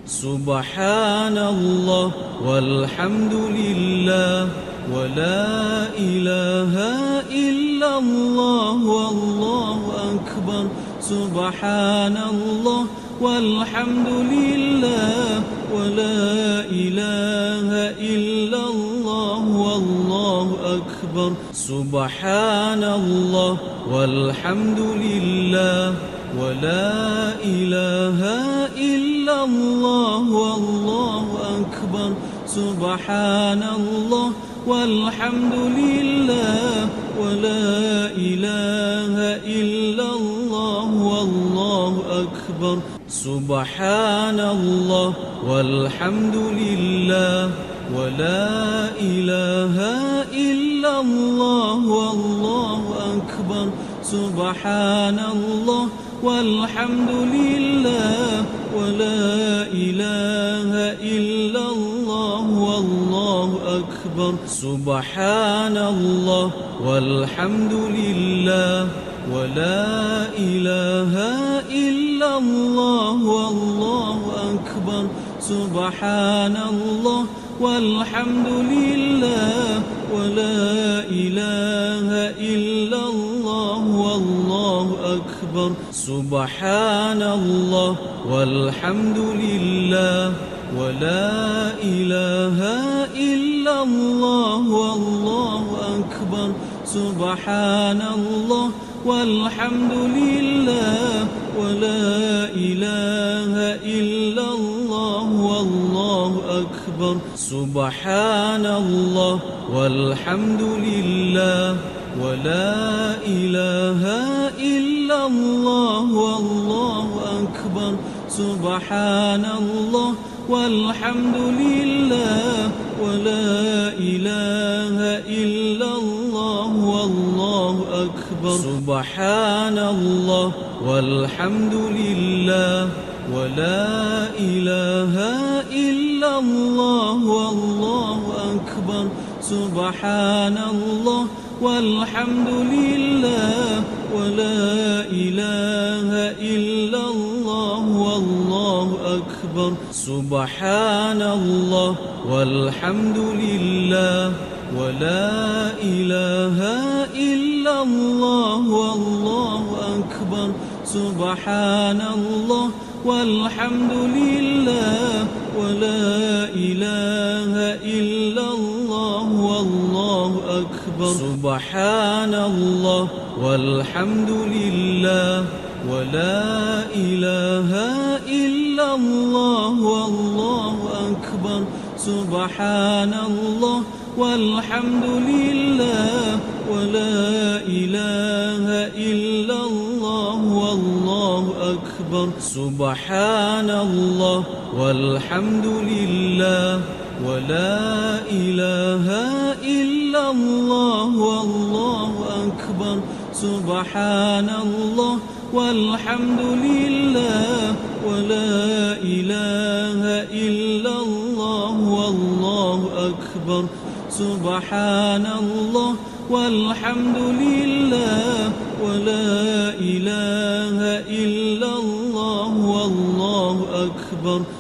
سبحان الله والحمد لله ولا إله إلا الله والله أكبر. سبحان الله والحمد لله ولا إله إلا الله والله أكبر. سبحان الله والحمد لله ولا إله إلا الله والله أكبر. سبحان الله والحمد لله ولا إله إلا الله والله أكبر. سبحان الله والحمد لله ولا إله إلا الله والله أكبر. سبحان الله والحمد لله ولا إله إلا الله والله أكبر. سبحان الله والحمد لله ولا إله إلا الله والله أكبر. سبحان الله والحمد لله ولا إله إلا الله والله أكبر. سبحان الله والحمد لله ولا إله إلا الله والله أكبر. سبحان الله والحمد لله ولا إله إلا الله والله أكبر. سبحان الله والحمد لله ولا إله إلا الله والله أكبر. سبحان الله والحمد لله ولا إله إلا الله والله أكبر. سبحان الله والحمد لله ولا إله إلا الله والله أكبر. سبحان الله والحمد لله ولا إله إلا الله والله أكبر. سبحان الله والحمد لله ولا إله إلا الله والله أكبر. سبحان الله والحمد لله ولا إله إلا الله والله أكبر. سبحان الله والحمد لله ولا إله إلا الله والله أكبر. سبحان الله والحمد لله ولا إله إلا الله والله أكبر. سبحان الله والحمد لله ولا إله إلا الله والله أكبر. سبحان الله والحمد لله ولا إله إلا الله والله أكبر. سبحان الله والحمد لله ولا إله إلا الله والله أكبر.